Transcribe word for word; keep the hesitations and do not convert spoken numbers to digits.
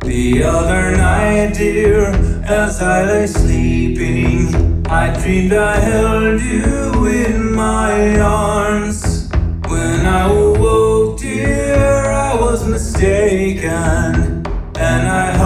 The other night, dear, as I lay sleeping, I dreamed I held you in my arms. When I awoke, dear, I was mistaken, and I